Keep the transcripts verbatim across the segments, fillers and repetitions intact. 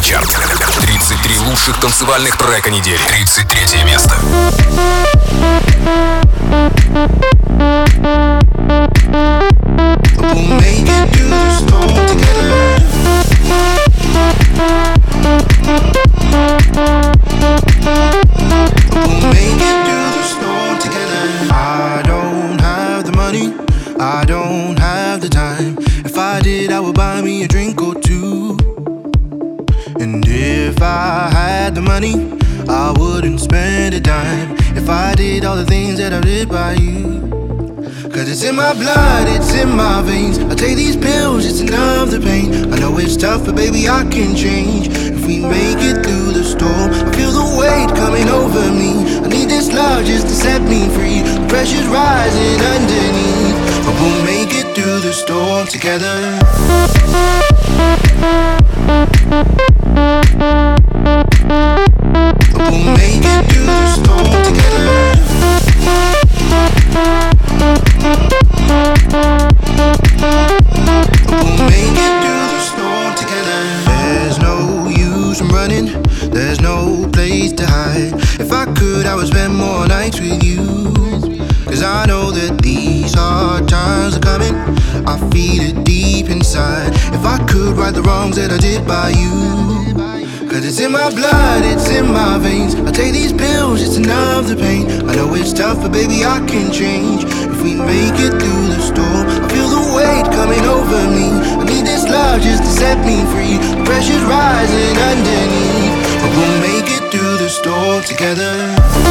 Суперчарт. тридцать три лучших танцевальных трека недели. тридцать третье место. We'll make it through the storm together. We'll make it through the storm together. I don't have the money, I don't have the time. If I did, I would buy me a drink or two. And if I had the money, I wouldn't spend a dime. If I did all the things that I did by you. Cause it's in my blood, it's in my veins. I take these pills just to numb the pain. I know it's tough, but baby I can change. If we make it through the storm, I feel the weight coming over me. I need this love just to set me free. The pressure's rising underneath, but we'll make it through the storm together. We'll make it through the storm together. We'll make it through the storm together. There's no use in running, there's no place to hide. If I could, I would spend more nights with you. Cause I know that these hard times are coming, I feel it deep inside. If I could right the wrongs that I did by you. Cause it's in my blood, it's in my veins. I take these pills just to numb the pain. I know it's tough, but baby I can change. If we make it through the storm, I feel the weight coming over me. I need this love just to set me free. The pressure's rising underneath, but we'll make it through the storm together.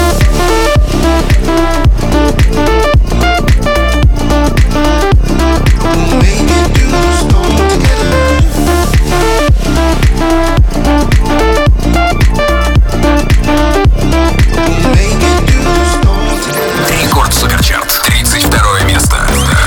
We'll make it through the storm together. Рекорд Суперчарт. тридцать второе место.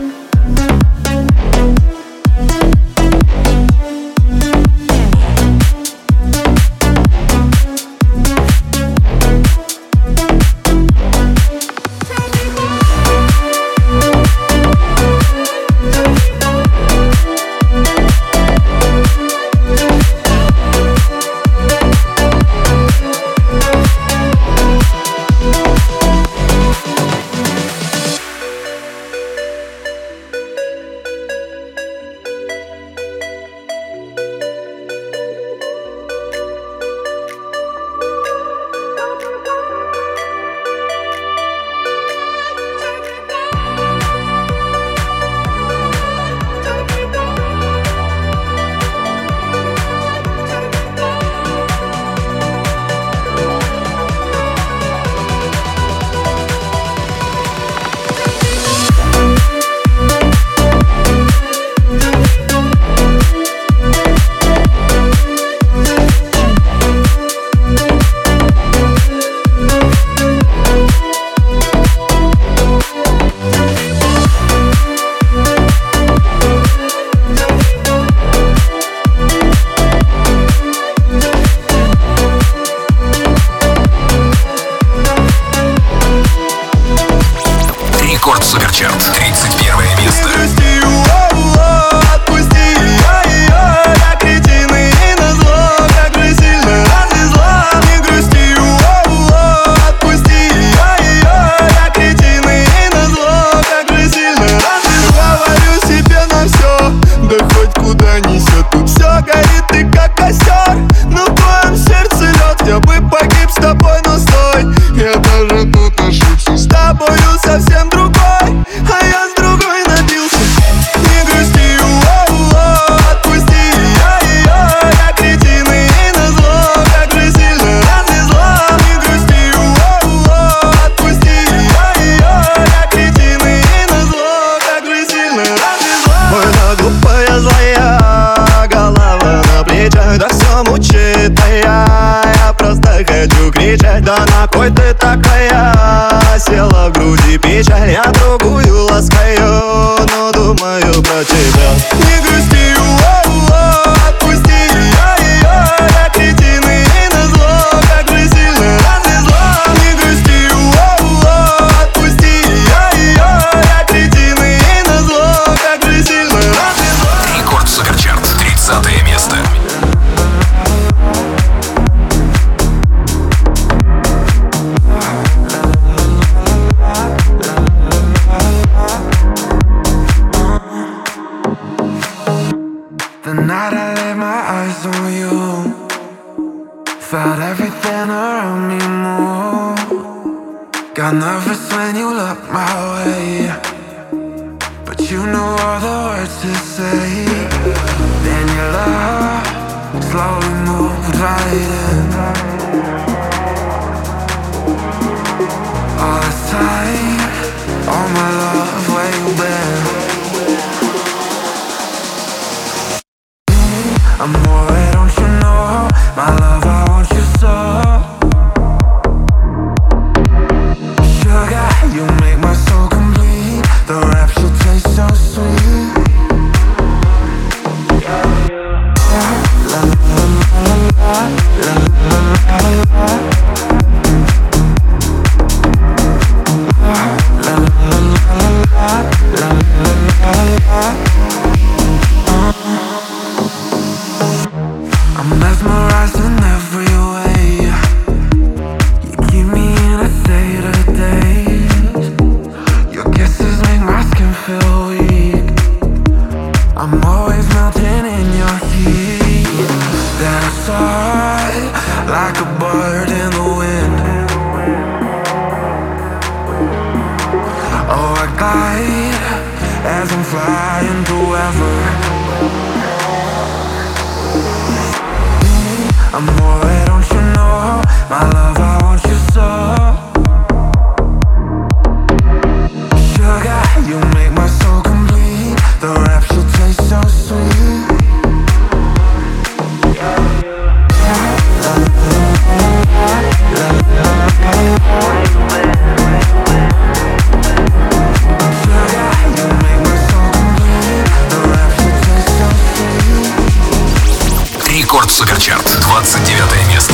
Да на кой ты такая? Села в груди печаль, я другую ласкаю, но думаю про тебя. Не грусти, о-о-о, отпусти я ее. Я кретин и назло, как же сильно развезло. Не грусти, о-о-о, отпусти я ее. Я кретин и назло, как же сильно развезло. Рекорд Суперчарт, тридцатое место. I laid my eyes on you, felt everything around me move. Got nervous when you looked my way, but you knew all the words to say. Then your love slowly moved right in. All this time, all my love, where you been? I'm worried, don't you know? My love, I want you so. Sugar, you make my soul complete. The rapture tastes so sweet. La la la la la, la la la la. La la la la, la la la la. I'm mesmerized in every way. You keep me in a state of daze. Your kisses make my skin feel weak. I'm always melting in your heat. Then I soar like a bird in the wind. Oh, I glide as I'm flying through ever. I'm worried, don't you know? My love, I want you so. Sugar, you make my soul complete. The rapture tastes so sweet. La la la la, sugar, you make my soul complete. The rapture tastes so sweet. Рекорд Суперчарт, двадцать девятое место.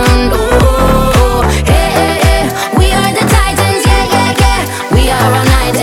All night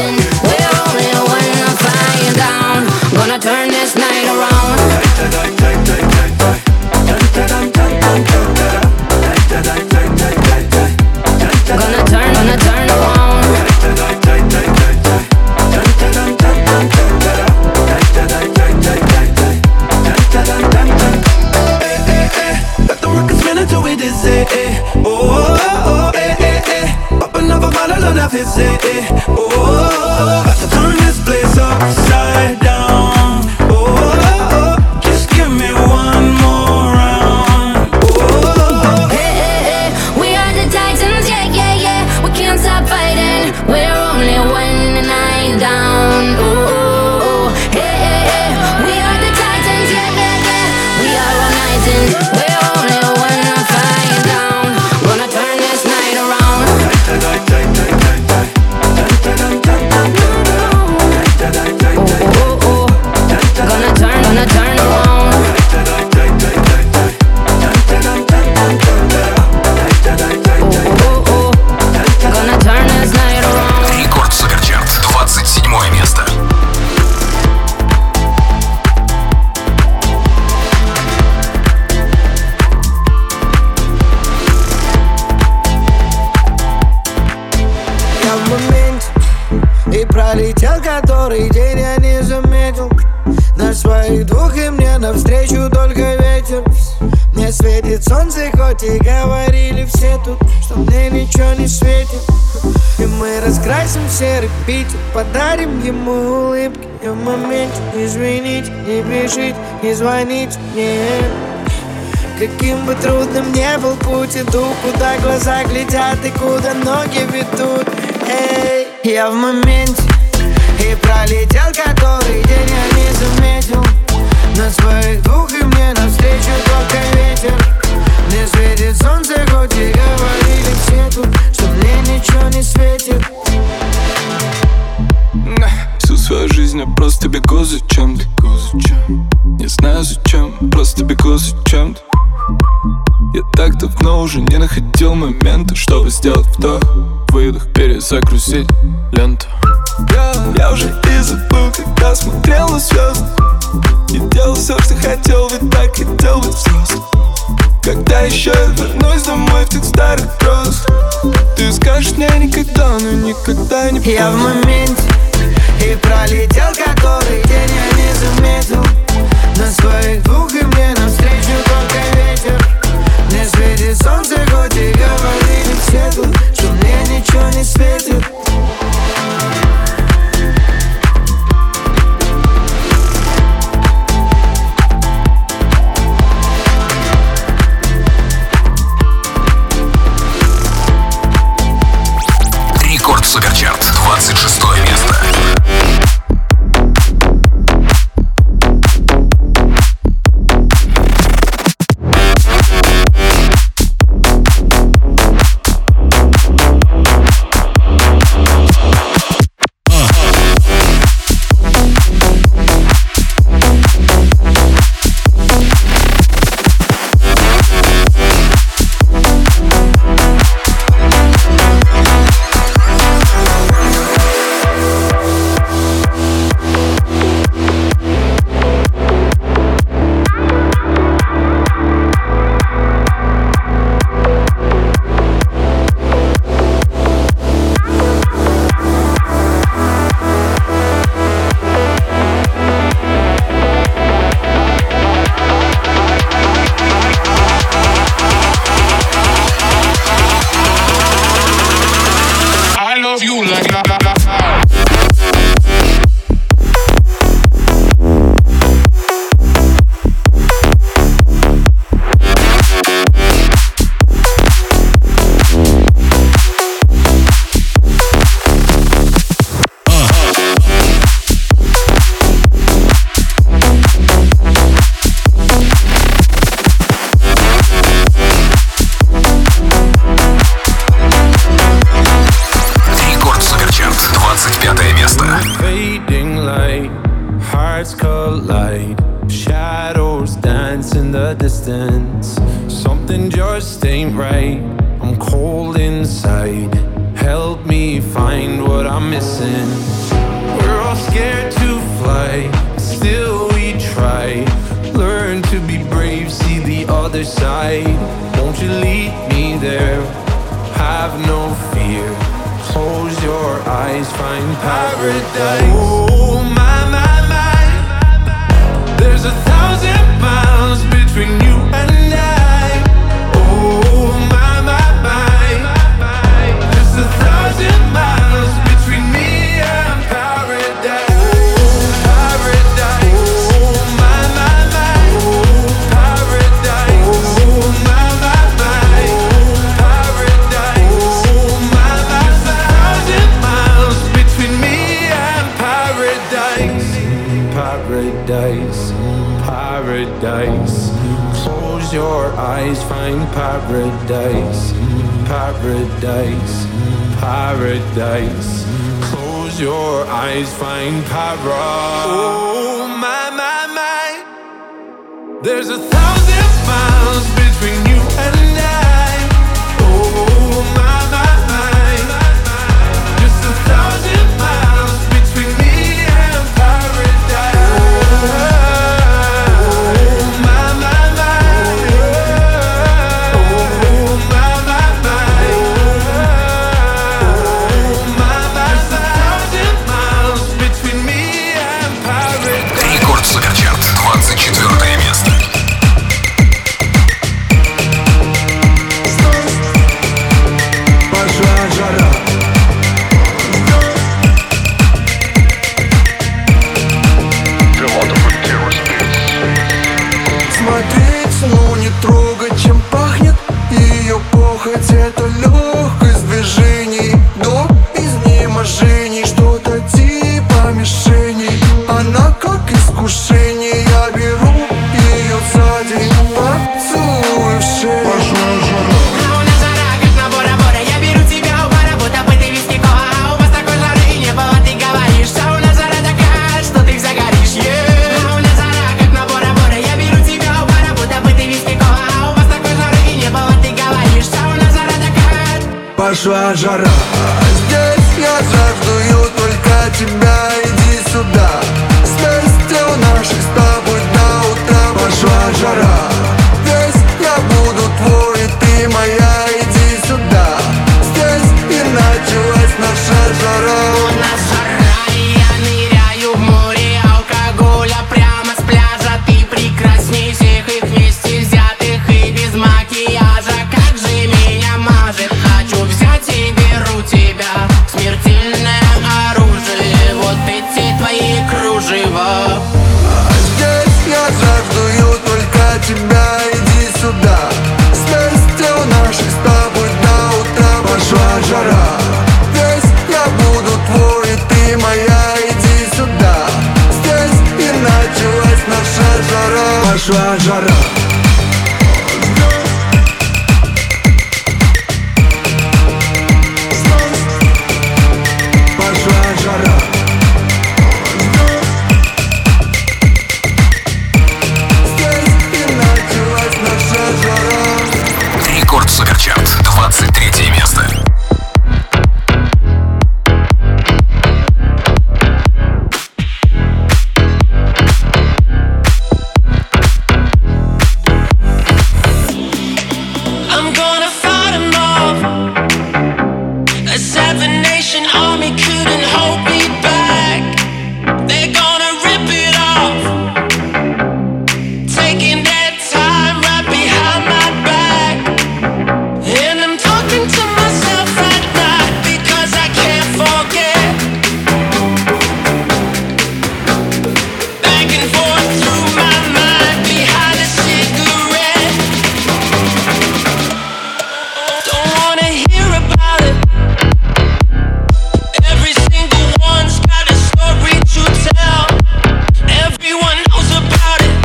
пролетел который день, я не заметил. На своих двух и мне навстречу только ветер. Мне светит солнце, хоть и говорили все тут, что мне ничего не светит. И мы раскрасим серый Питер, подарим ему улыбки. И в моменте извините, не пишите, не звоните мне. Каким бы трудным ни был путь, иду, куда глаза глядят и куда ноги ведут. Эй, я в моменте, и пролетел который день, я не заметил. На своих двух и мне навстречу только ветер. Мне светит солнце, хоть и говорили все тут, что мне ничего не светит. Всю свою жизнь я просто бегу за чем-то. Не знаю зачем, просто бегу за чем-то. Я так давно уже не находил момента, чтобы сделать вдох, выдох, перезагрузить ленту. Я уже и забыл, когда смотрел на звезды, и делал все, что хотел, ведь так хотел быть взрослым. Когда еще я вернусь домой в тех старых грозах, ты скажешь мне никогда, но никогда не поздно. Я в моменте, и пролетел который день, я не заметил. На своих двух и мне навстречу только ветер. Мне светит солнце, хоть и говорили все тут, что мне ничего не светит. Рекорд Суперчарт, двадцать шестое место. пошла жара. Здесь я жаждую только тебя, иди сюда. Вместе у наших с тобой до утра. Пошла жара. Здесь я буду твой, и ты моя, иди сюда. Здесь и началась наша жара. У нас жара, и я ныряю в море алкоголя прямо с пляжа. Ты прекрасней всех их вместе взятых и без макияжа. Как же меня мажет, хочу взять и беру тебя. Смертельное оружие, вот эти твои кружева. Здесь я жаждую только тебя, иди сюда. Вместе у наших с тобой до утра. Пошла жара. Здесь я буду твой, и ты моя, иди сюда. Здесь и началась наша жара. Пошла жара. Пошла жара. Здесь и началась наша жара. Рекорд Суперчарт, двадцать третье место. I'm gonna fight them off. A seven nation army couldn't hold me back. They're gonna rip it off, taking their time right behind my back. And I'm talking to myself at night because I can't forget. Back and forth through my mind behind a cigarette. Don't wanna hear about it. Every single one's got a story to tell. Everyone knows about it.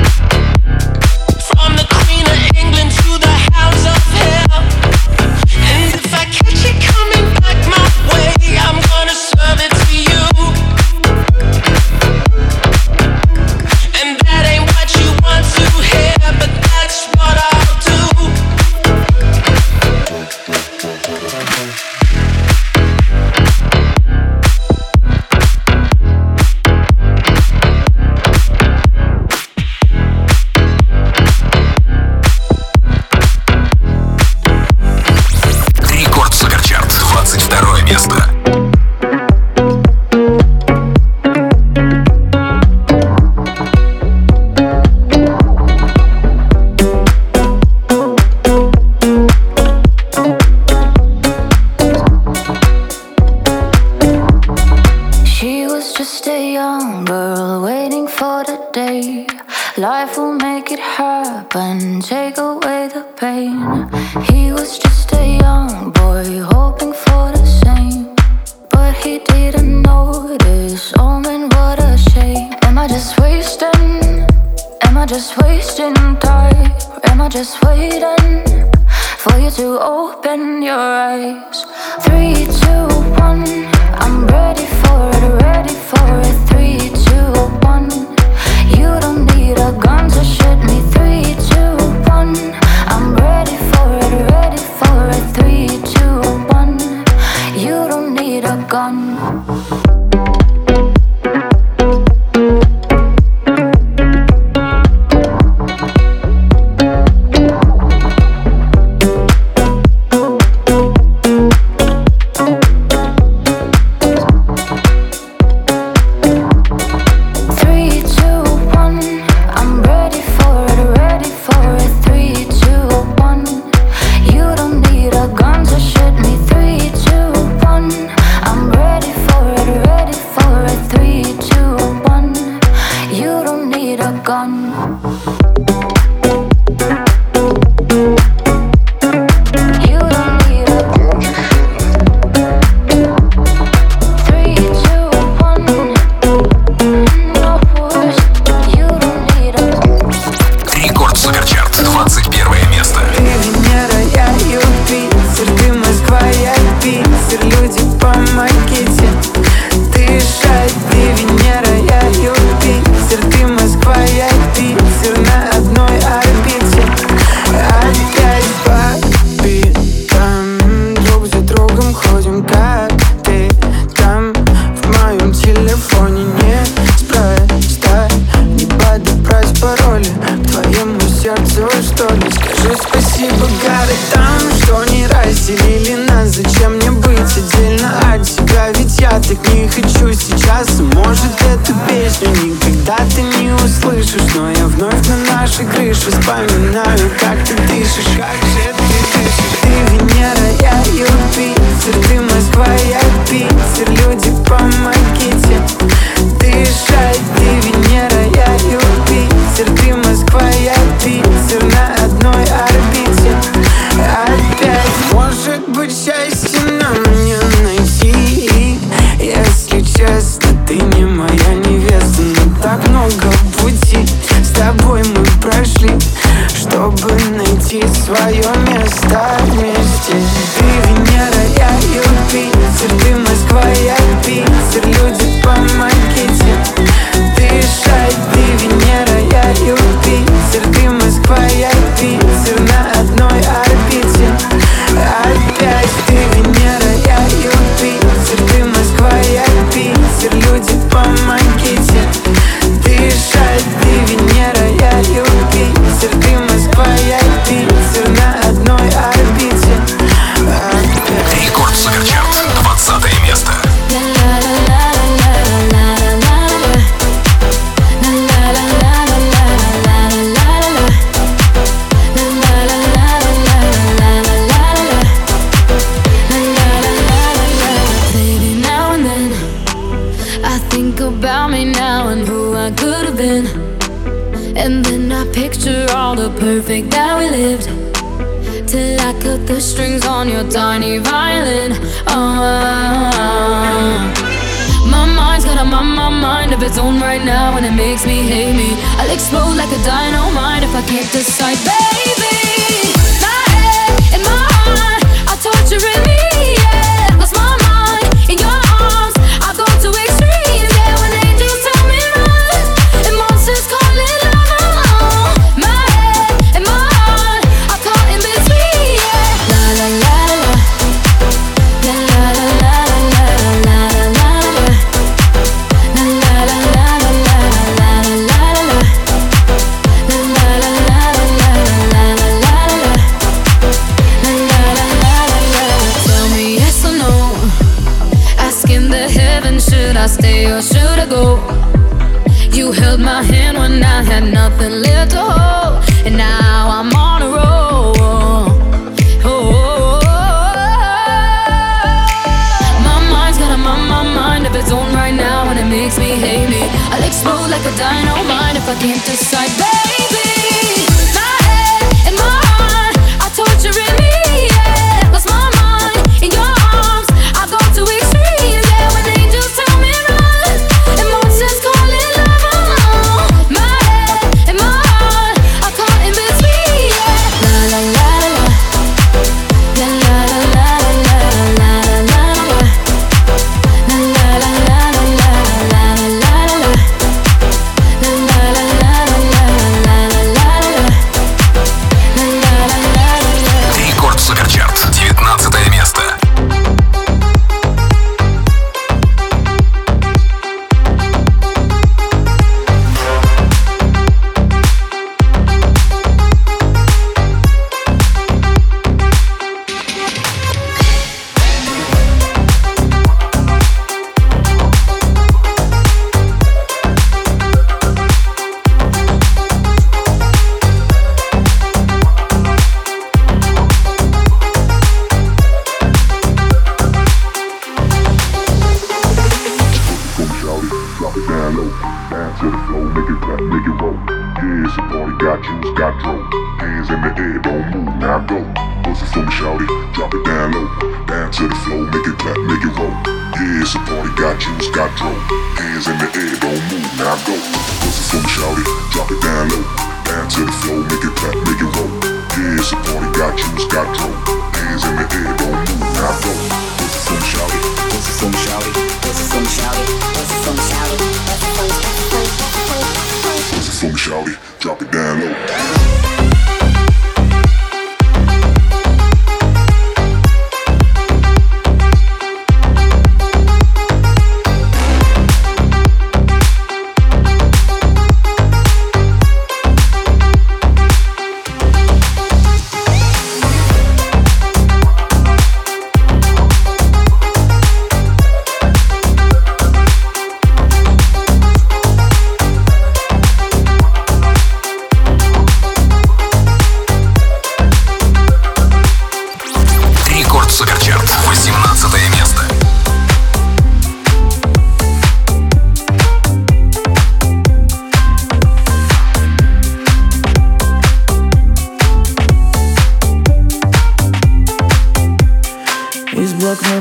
From the Queen of England to the Hounds of Hell. And if I catch it coming back my way, I'm gonna serve it to you. And that ain't what you want to hear, but that's what I'll do. Рекорд Суперчарт, двадцать второе место. She was just a young girl waiting for the day life will make it happen, take away the pain. He was just a young boy hoping for the same, but he didn't notice. Oh man, what a shame. Am I just wasting? Am I just wasting time? Or am I just waiting for you to open your eyes? Three, two, one. I'm ready for it, ready for it. Three, two, one. You don't need a gun to shoot me. Three, two, one. I'm ready for it, ready for it. Three, two, one. You don't need a gun. Люди по макете, ты шарь, ты Венера. песню никогда ты не услышишь, но я вновь на нашей крыше вспоминаю, как ты дышишь, как же ты дышишь. Ты Венера, я Юпитер, ты Москва, я Питер, люди, помогите дышать. Ты Венера, я Юпитер, ты Москва, я Питер, на одной орбите опять. Может быть, счастье нам не найти, если честно, ты не моя невеста. Но так много пути с тобой мы прошли, чтобы найти свое место вместе. Ты Венера, я Юпитер, ты Москва, я Питер, люди, помогите дышать. Ты Венера, я Юпитер, ты Москва, я Питер, на одной орбите опять. Ты Венера, я Юпитер, ты Москва, я Питер, люди, помогите дышать. Ты Венера, я Юпитер, ты Москва, я Питер, на одной орбите опять. Рекорд Суперчарт, двадцатое место. About me now and who I could have been, and then I picture all the perfect that we lived, till I cut the strings on your tiny violin. Oh, my mind's got a my, my mind of its own right now, and it makes me hate me. I'll explode like a dynamite if I can't decide, baby. My head and my heart are torturing me, yeah. Lost my mind in your arms, I go to extremes. I stay or should I go? You held my hand when I had nothing left to hold, and now I'm on a roll. Oh, my mind's got a my, my mind of its own right now, and it makes me hate me. I'll explode like a dynamite if I can't decide, baby. My head and my heart are torturing me, yeah. Lost my mind in your arms, I go to extremes, yeah. When angels tell me run, emotions calling love, oh. My head and my heart are caught in between, yeah. La la la la, la la la la la la la la, la la la la la la la la la, la la la la la la. Рекорд Суперчарт, девятнадцатое место. Drop it down low.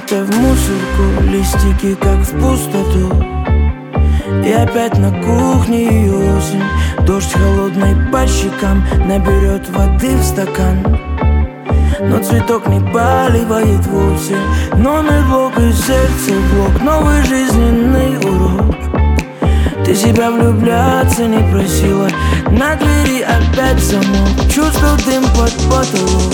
будто в мусорку, листики как в пустоту. И опять на кухне осень, дождь холодный по щекам наберет воды в стакан. Но цветок не поливает вовсе. Номер блок и сердце блок, новый жизненный урок. Ты себя влюбляться не просила, на двери опять замок. Чувствовал дым под потолок,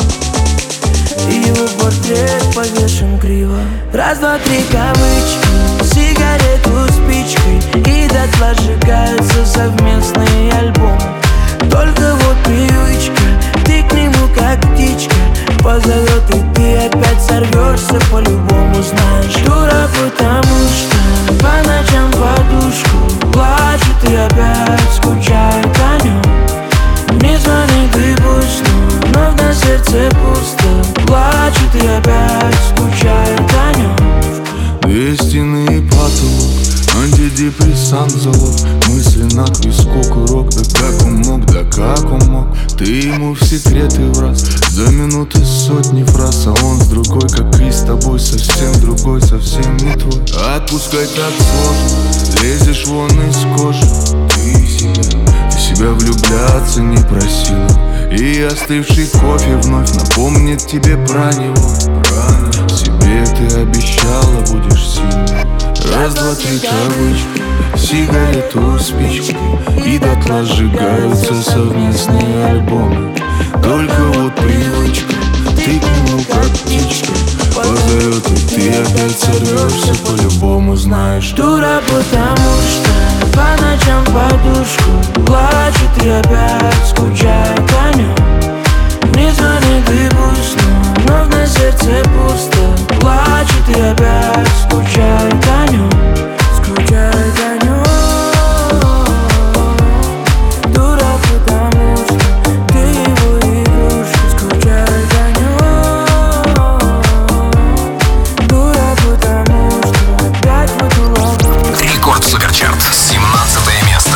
и его портрет повешен криво. Раз, два, три, кавычки, сигарету спичкой, и дотла сжигаются совместные альбомы. Только вот привычка, ты к нему как птичка позовет, и ты опять сорвешься по-любому. Знаешь, дура, потому что по ночам подушку плачет и опять скучает о нем. Не звони, ты пусть, но вновь на сердце пусто. Плачет и опять скучает о нем. Две стены и потолок, антидепрессант залог. Мысли на виску, курок, да как он мог, да как он мог. Ты ему в секреты враз, за минуты сотни фраз. А он с другой, как и с тобой, совсем другой, совсем не твой. Отпускай так сложно, лезешь вон из кожи. Ты себя, ты себя влюбляться не просила, и остывший кофе вновь напомнит тебе про него. Себе ты обещала, будешь сильной. Раз, два, три, кавычки, сигарету спички, и дотла сжигаются совместные альбомы. Только вот привычка, ты к нему как птичка позовет, и ты опять сорвешься по-любому. Знаешь, дура, потому что по ночам подушку плачет и опять скучает о нем. Не звони, ты пусть, но вновь на сердце пусто. Плачет и опять скучает о нем. Скучает о нем. Дура, потому что ты его игрушка. Скучает о нем. Дура, потому что опять в эту ловушку. Рекорд Суперчарт, семнадцатое место.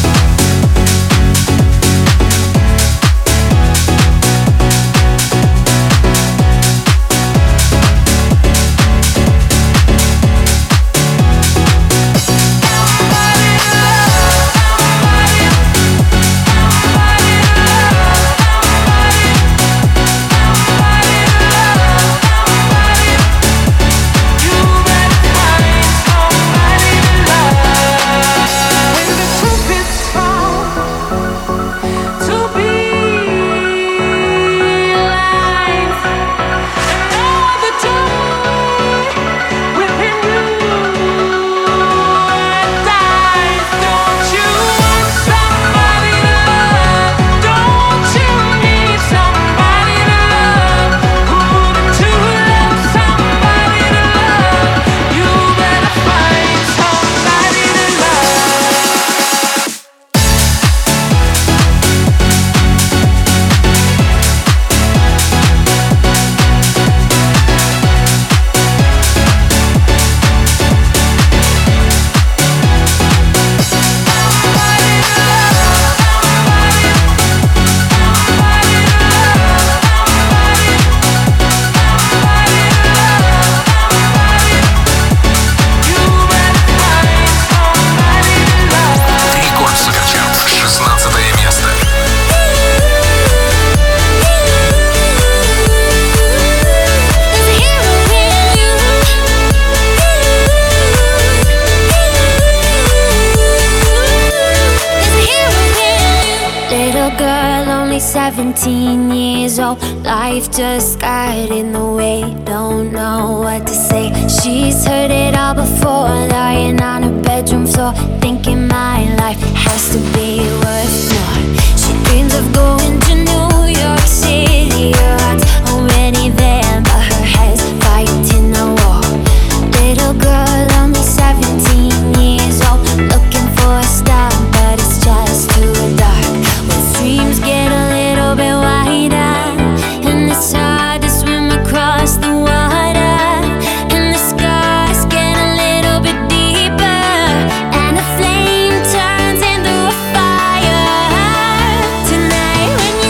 seventeen years old, life just got in the way. Don't know what to say. She's heard it all before, lying on her bedroom floor, thinking my life has to be worth more. She dreams of going to New York City. Her heart's already there, but her head's fighting a war. Little girl, only seventeen years old, looking for a star, but it's just too dark. When dreams get a little bit wider, and it's hard to swim across the water, and the scars get a little bit deeper, and the flame turns into a fire. Tonight when you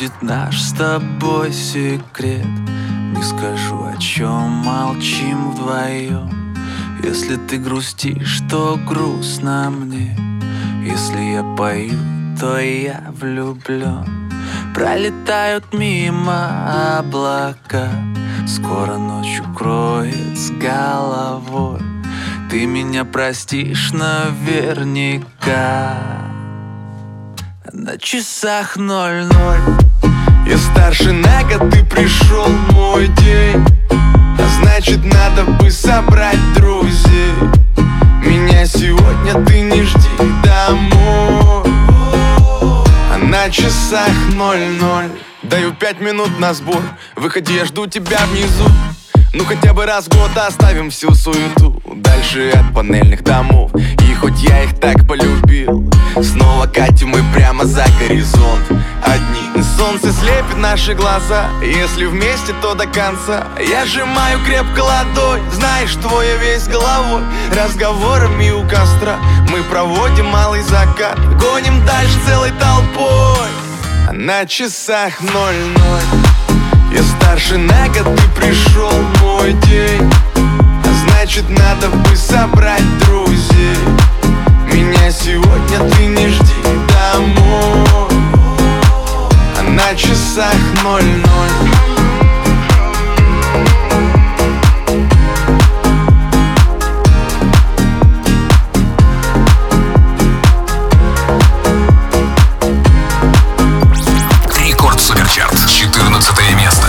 будет наш с тобой секрет. Не скажу, о чем молчим вдвоем. Если ты грустишь, то грустно мне. Если я пою, то я влюблен. Пролетают мимо облака, скоро ночь укроет с головой. Ты меня простишь наверняка. На часах ноль-ноль. Я старше на год, ты пришел мой день. А значит, надо бы собрать друзей. Меня сегодня ты не жди домой. А на часах ноль-ноль. Даю пять минут на сбор. Выходи, я жду тебя внизу. Ну хотя бы раз в год оставим всю суету. Дальше от панельных домов. И хоть я их так полюбил, снова катим мы прямо за горизонт. Одни солнце слепит наши глаза. Если вместе, то до конца. Я сжимаю крепко ладонь. Знаешь, что я весь головой. Разговорами у костра мы проводим малый закат. Гоним дальше целой толпой. А на часах ноль-ноль. Я старше на год, ты пришел мой день. А значит, надо бы собрать друзей. Меня сегодня ты не жди домой. А на часах ноль-ноль. Рекорд Суперчарт, четырнадцатое место.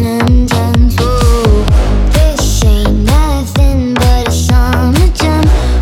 Jump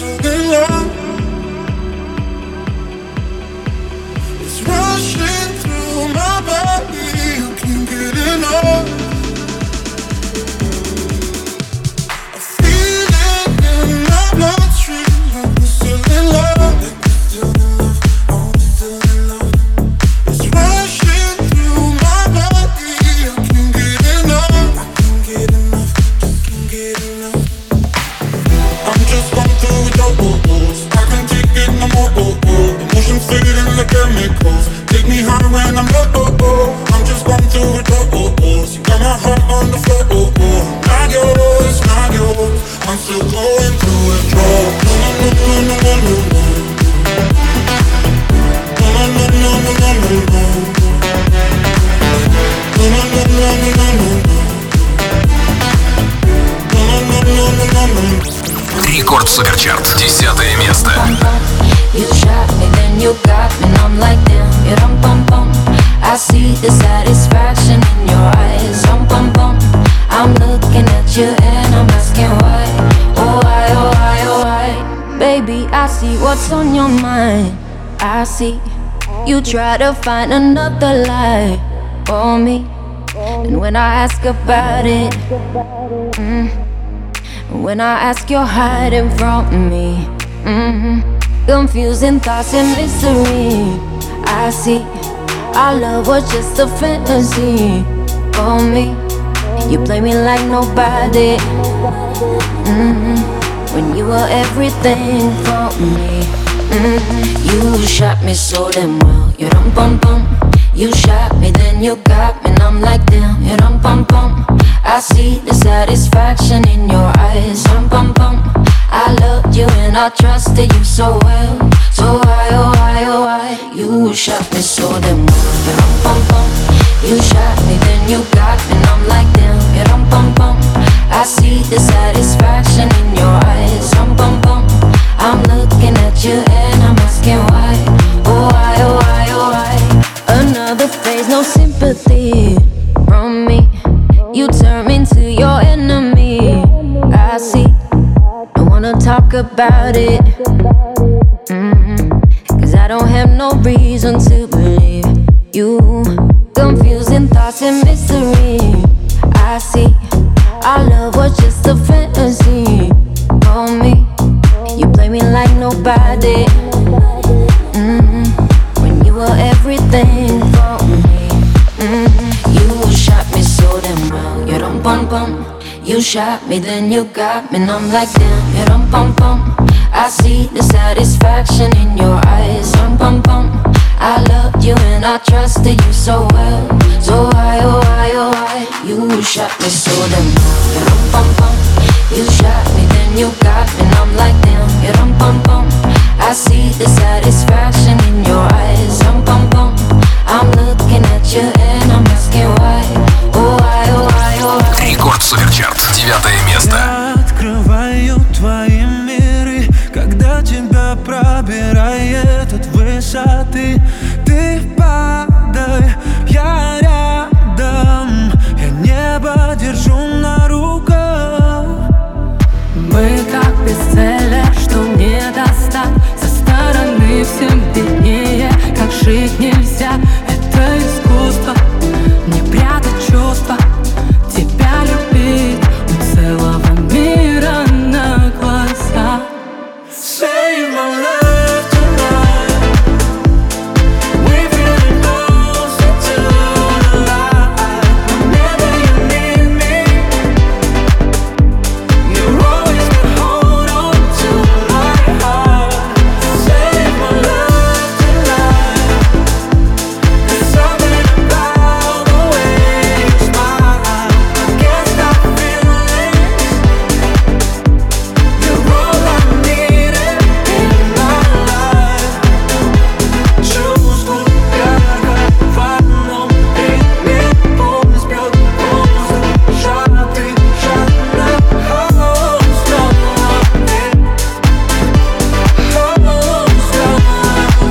still in love. It's rushing through my body, you can't get enough. I feel it in my bloodstream, like we're still in love. Like we're still in love, oh, we're still in love. It's rushing through my body, I can't get enough. I can't get enough, just can't get enough. I'm just going through withdrawals. I can't take it no more. Oh, oh. Emotions fading like chemicals. Take me high when I'm low. Oh, oh. I'm just going through withdrawals. You got my heart on the floor. Oh, oh. Not yours, not yours. I'm still going through withdrawals. No, no, no, no, no, no, no. No, no, no, no, no, no, no. No, no, no, no, no, no, no. No, no, no, no, no, no. Рекорд Суперчарт, десятое место. You shot me, then you got me, and I'm like damn, you rum pum pum. I see the satisfaction in your eyes, rum pum pum. I'm looking at you and I'm asking why, oh why, oh why, oh why. Baby, I see what's on your mind. I see you try to find another lie for me, and when I ask about it, mm, when I ask, you're hiding from me. Mm-hmm. Confusing thoughts and mystery. I see our love was just a fantasy for me. You play me like nobody. Mm-hmm. When you were everything for me. Mm-hmm. You shot me so damn well. You rum pum pum. You shot me, then you got me, and I'm like damn. You rum pum pum. I see the satisfaction in your eyes, rum pum pum. I loved you and I trusted you so well. So why, oh why, oh why? You shot me so damn well. Rum pum pum. You shot me, then you got me, and I'm like damn. Rum pum pum. I see the satisfaction in your eyes, rum pum pum. I'm looking at you and I'm asking why, oh why, oh why, oh why? Another phase, no sympathy from me. You turn me into your enemy. I see. Don't wanna talk about it. Mm-hmm. Cause I don't have no reason to believe you. Confusing thoughts and mystery. I see. Our love was just a fantasy for me. You play me like nobody. Mm-hmm. When you were everything for me. Mm-hmm. You shot me so damn well. You rum pum pum. You shot me, then you got me, and I'm like damn. You rum pum pum. I see the satisfaction in your eyes, rum pum pum. I loved you and I trusted you so well. So why, oh why, oh why? You shot me so damn well. You rum pum pum. You shot me, then you got me, and I'm like damn. You rum pum pum. I see the satisfaction in your eyes, rum pum pum. I'm looking at you and I'm asking why, oh why, oh why, oh why. Рекорд Суперчарт, девятое место. Я открываю твои миры, когда тебя пробирает от высоты. Ты падай, я рядом, я небо держу на руках. Мы как без цели, что не достать. Со стороны всем виднее, как жить нельзя. Это искусство, не прятать чувства. Тебя любить у целого мира на глаза. Save my love tonight. We feeling closer to the light. Whenever you need me, you always can hold on to my heart. Save my love tonight. There's something about the way you smile. I can't stop feeling. You're all I needed in my life. Чувствую, как в одном ритме пульс бьет воздух, сжатый, жадно, oh, снова ты, oh, снова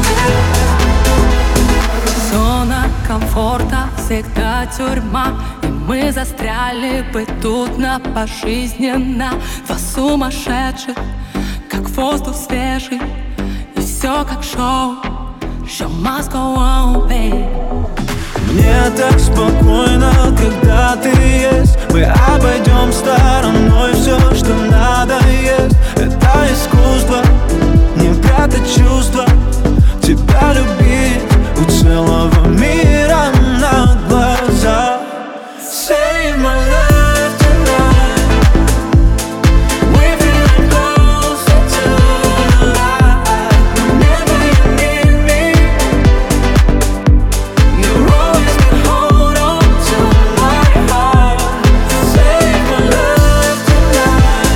ты. Зона комфорта всегда тюрьма, и мы застряли бы тут на пожизненно. Два сумасшедших, как воздух свежий, и все как шоу. Show must go on, babe. Мне так спокойно, когда ты есть. Мы обойдем стороной все, что надо есть. Это искусство, не прятать чувства. Тебя любить у целого мира на глазах. Save my life tonight. We're feeling closer to the light. Whenever you need me, you'll always can hold on to my heart. Save my life tonight.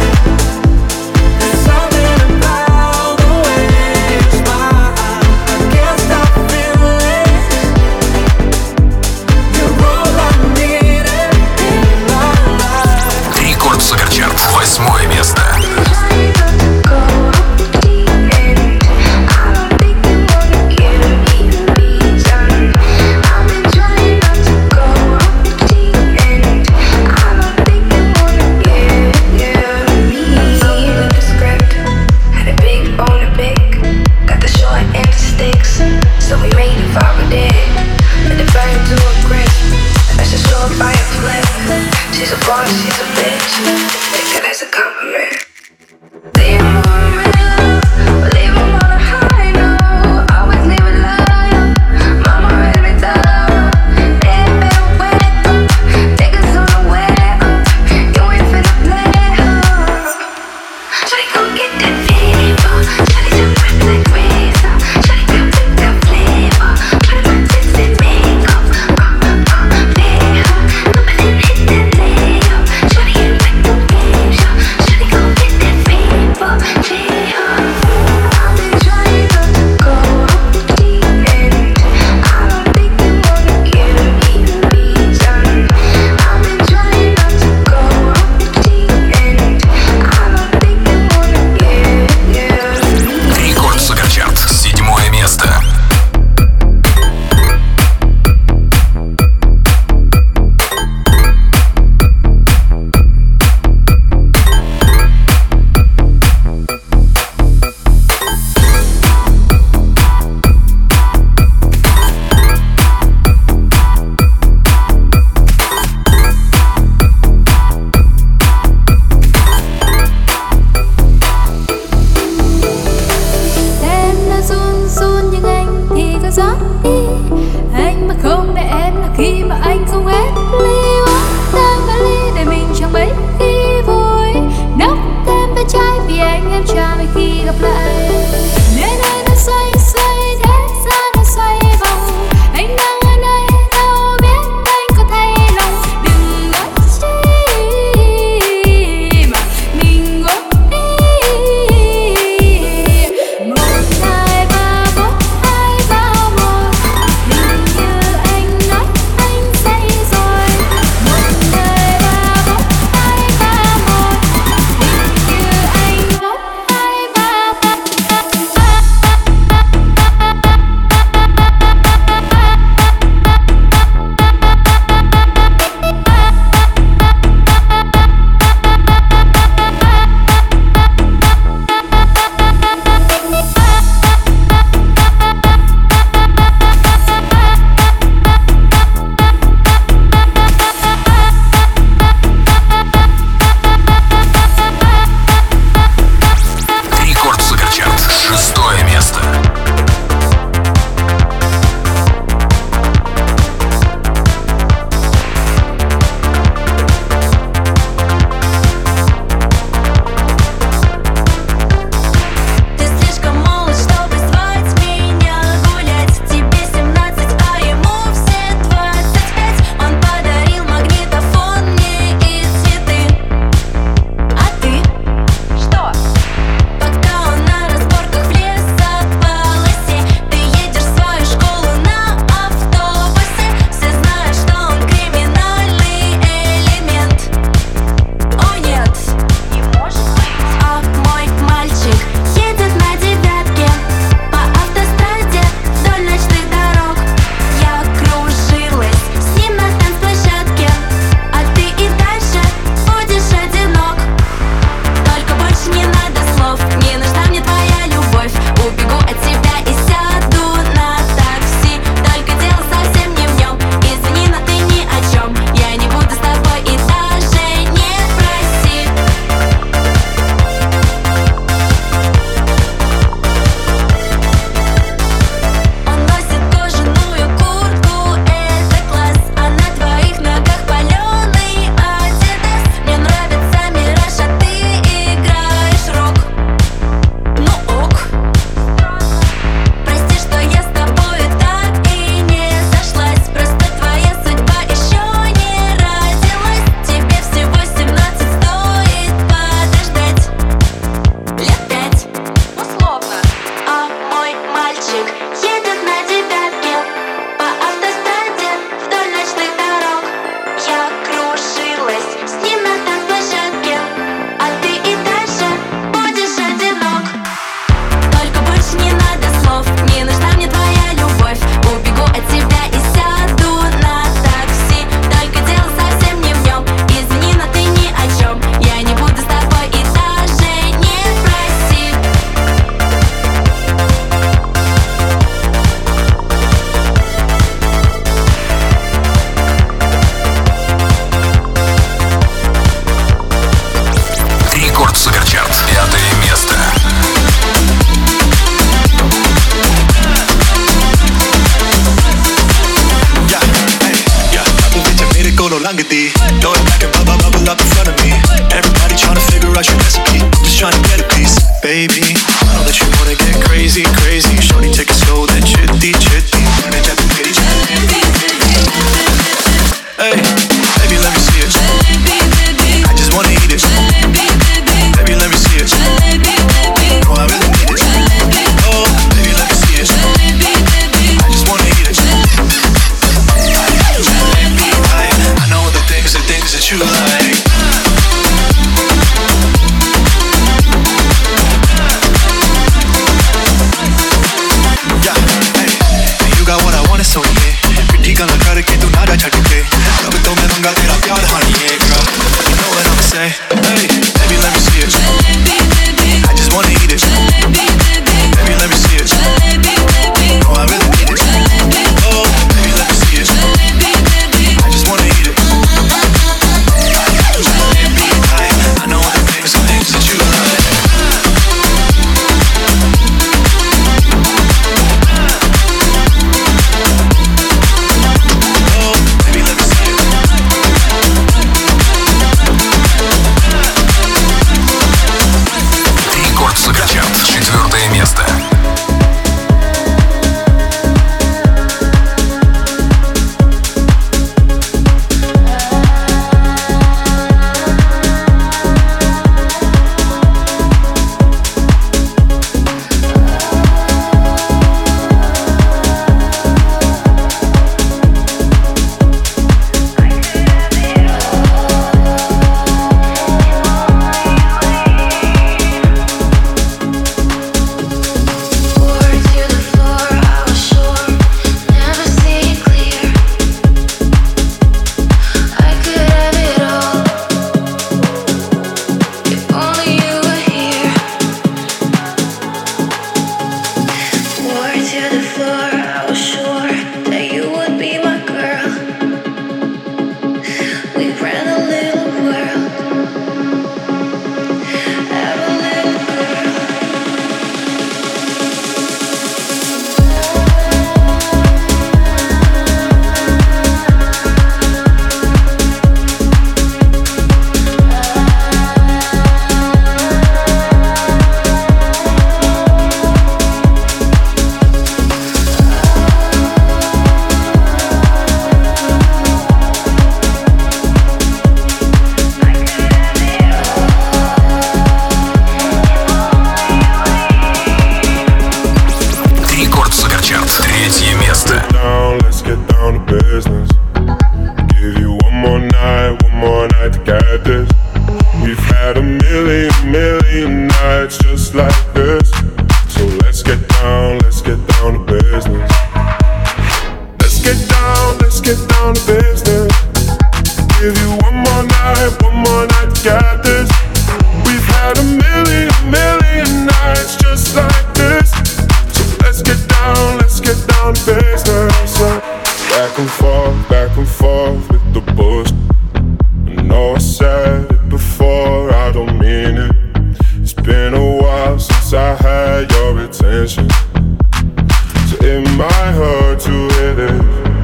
nights just like this. So let's get down, let's get down to business. Let's get down, let's get down to business. Give you one more night, one more night to get this. We've had a million, million nights just like this. So let's get down, let's get down to business. So back and forth, back and forth with the bullshit. I know I said it before, I don't mean it. It's been a while since I had your attention, so it might hurt to hit it.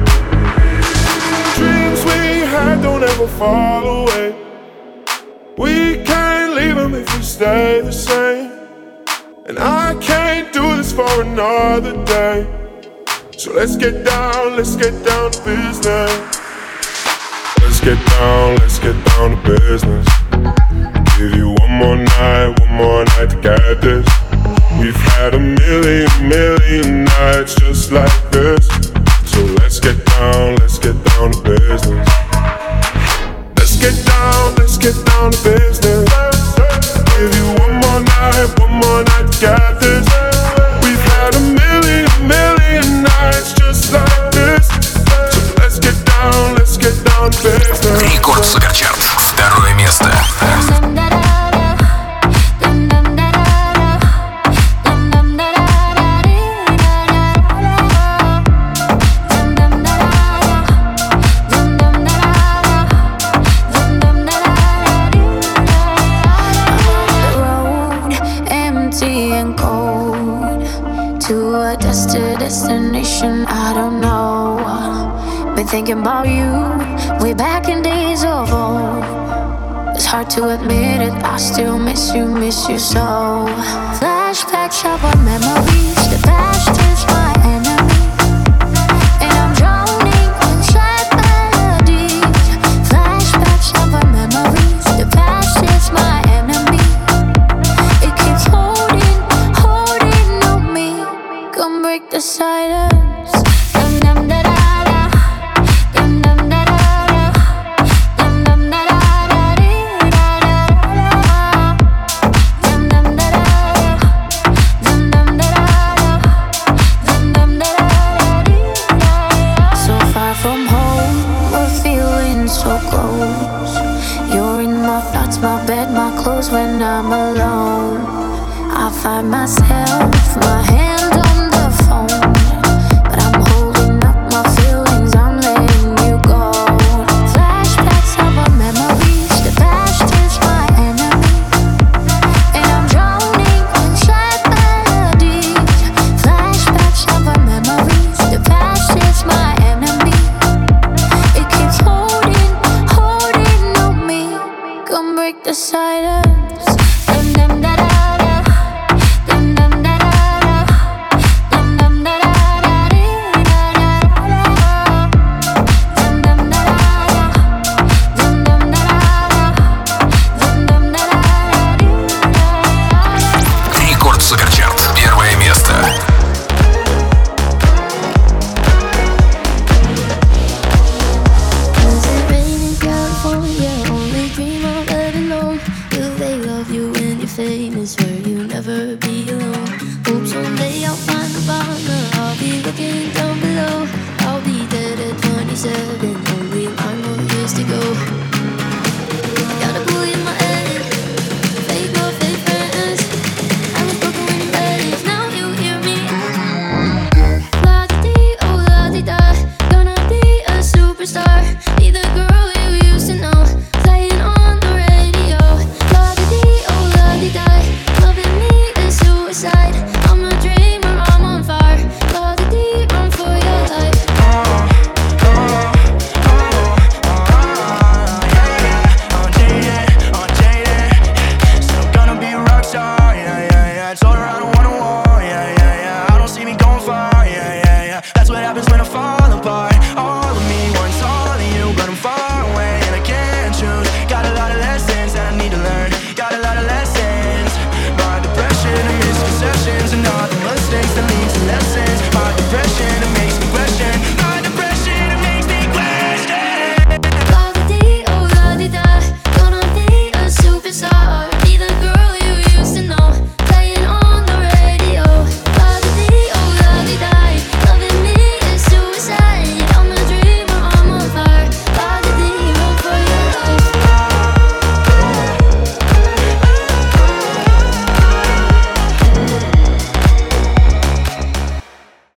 Dreams we had don't ever fall away. We can't leave them if we stay the same. And I can't do this for another day. So let's get down, let's get down to business. Let's get down, let's get down to business. Give you one more night, one more night to get this. We've had a million, million nights just like this. So let's get down, let's get down to business. Let's get down, let's get down to business. Give you one more night, one more night to get this. We've had a million, million nights just like this. So let's get down, let's get down to business. Рекорд Суперчарт. Второе место. Destination, I don't know. Been thinking about you way back in days of old. It's hard to admit it, I still miss you, miss you so. Flashbacks of our memories, the past is my enemy, and I'm drowning in sad melodies. Flashbacks of our memories, the past is my enemy. It keeps holding, holding on me. Come break the silence. Dum dum da da da. Dum dum da da da. Dum dum da da da dee da da da. Dum dum da da da. Dum dum da da da. Dum dum da da dee da da. So far from home, we're feeling so close. You're in my thoughts, my bed, my clothes when I'm alone. I find myself, my hand on the phone, but I'm holding up my feelings, I'm letting you go. Flashbacks of our memories, the past is my enemy, and I'm drowning in sad melodies. Flashbacks of our memories, the past is my enemy. It keeps holding, holding on me. Come break the silence. Dum dum da da. I'll be looking down below. I'll be dead at twenty-seven, only